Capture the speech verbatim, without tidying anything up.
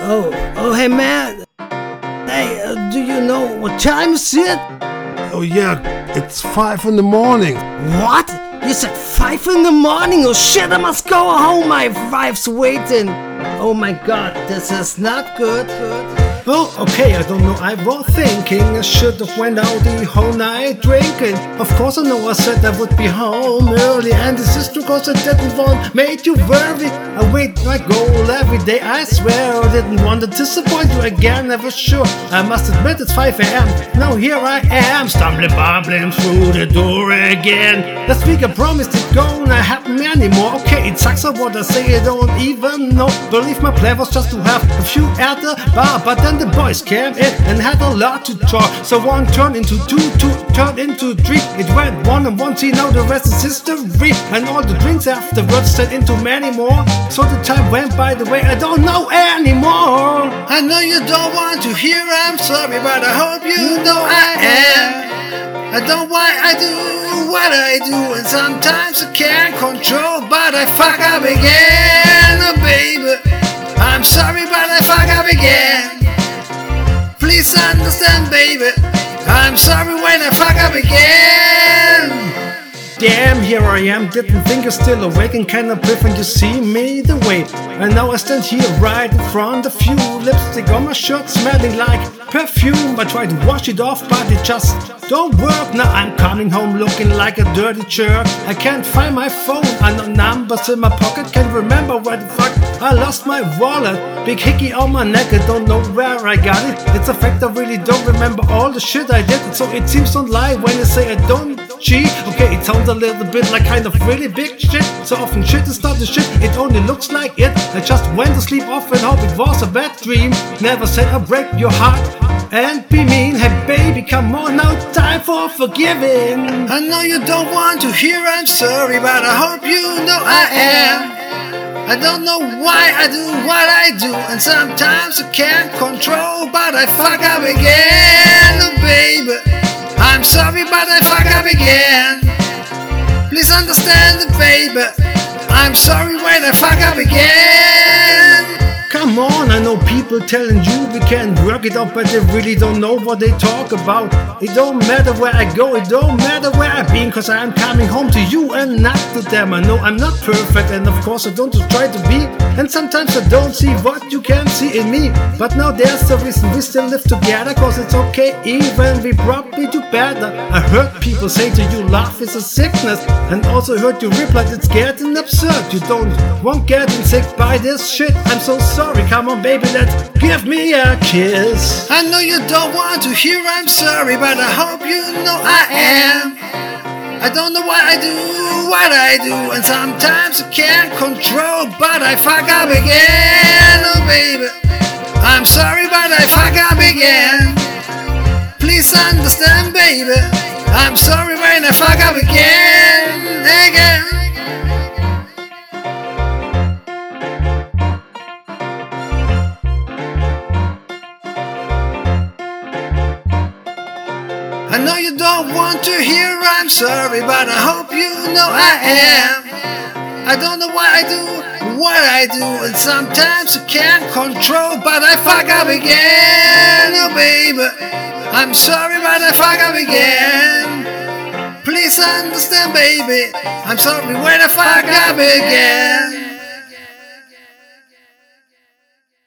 Oh, oh, hey man. Hey, uh, do you know what time is it? Oh yeah, it's five in the morning. What? You said five in the morning? Oh shit, I must go home. My wife's waiting. Oh my god, this is not good. good. Oh, okay, I don't know, I was thinking I should have went out the whole night drinking. Of course I know I said I would be home early, and this is because I didn't want made you worry. I wait my goal every day, I swear I didn't want to disappoint you again, never sure. I must admit it's five a m Now here I am, stumbling bumbling through the door again. Last week I promised it gonna happen anymore. Okay, it sucks at what I say, I don't even know. Believe my plan was just to have a few at the bar, but then the boys came in and had a lot to talk. So one turned into two, two turned into three. It went one and one, see now the rest is history. And all the drinks afterwards turned into many more. So the time went by the way I don't know anymore. I know you don't want to hear I'm sorry, but I hope you know I am. I don't know why I do what I do, and sometimes I can't control, but I fuck up again, oh baby. I'm sorry, but I fuck up again. Please understand, baby, I'm sorry when I fuck up again. Damn, here I am, didn't think you're still awake and kind of brief when you see me the way. And now I stand here right in front of you, lipstick on my shirt smelling like perfume. I try to wash it off, but it just don't work. Now I'm coming home looking like a dirty jerk. I can't find my phone, I know numbers in my pocket, can't remember where the fuck I lost my wallet. Big hickey on my neck, I don't know where I got it. It's a fact I really don't remember all the shit I did. So it seems don't lie when I say I don't cheat. Okay, it sounds a little bit like kind of really big shit. So often shit is not the shit, it only looks like it. I just went to sleep off and hope it was a bad dream. Never said I'll break your heart and be mean. Hey baby, come on now, time for forgiving. I know you don't want to hear I'm sorry, but I hope you know I am. I don't know why I do what I do, and sometimes I can't control, but I fuck up again, oh baby. I'm sorry, but I fuck up again. Please understand, baby, I'm sorry when I fuck up again. Come on, I know people telling you we can't work it out, but they really don't know what they talk about. It don't matter where I go, it don't matter where I've been, cause I'm coming home to you and not to them. I know I'm not perfect, and of course I don't try to be, and sometimes I don't see what you can see in me. But now there's a reason we still live together, cause it's okay even we probably do better. I heard people say to you love is a sickness, and also heard you reply it's getting absurd. You don't want getting sick by this shit, I'm so sorry. Sorry, come on baby, let's give me a kiss. I know you don't want to hear I'm sorry, but I hope you know I am. I don't know why I do what I do, and sometimes I can't control, but I fuck up again, oh baby. I'm sorry, but I fuck up again. Please understand, baby, I'm sorry when I fuck up again, again. I know you don't want to hear I'm sorry, but I hope you know I am. I don't know why I do what I do, and sometimes I can't control, but I fuck up again, oh baby. I'm sorry, but I fuck up again. Please understand, baby, I'm sorry when I fuck up again.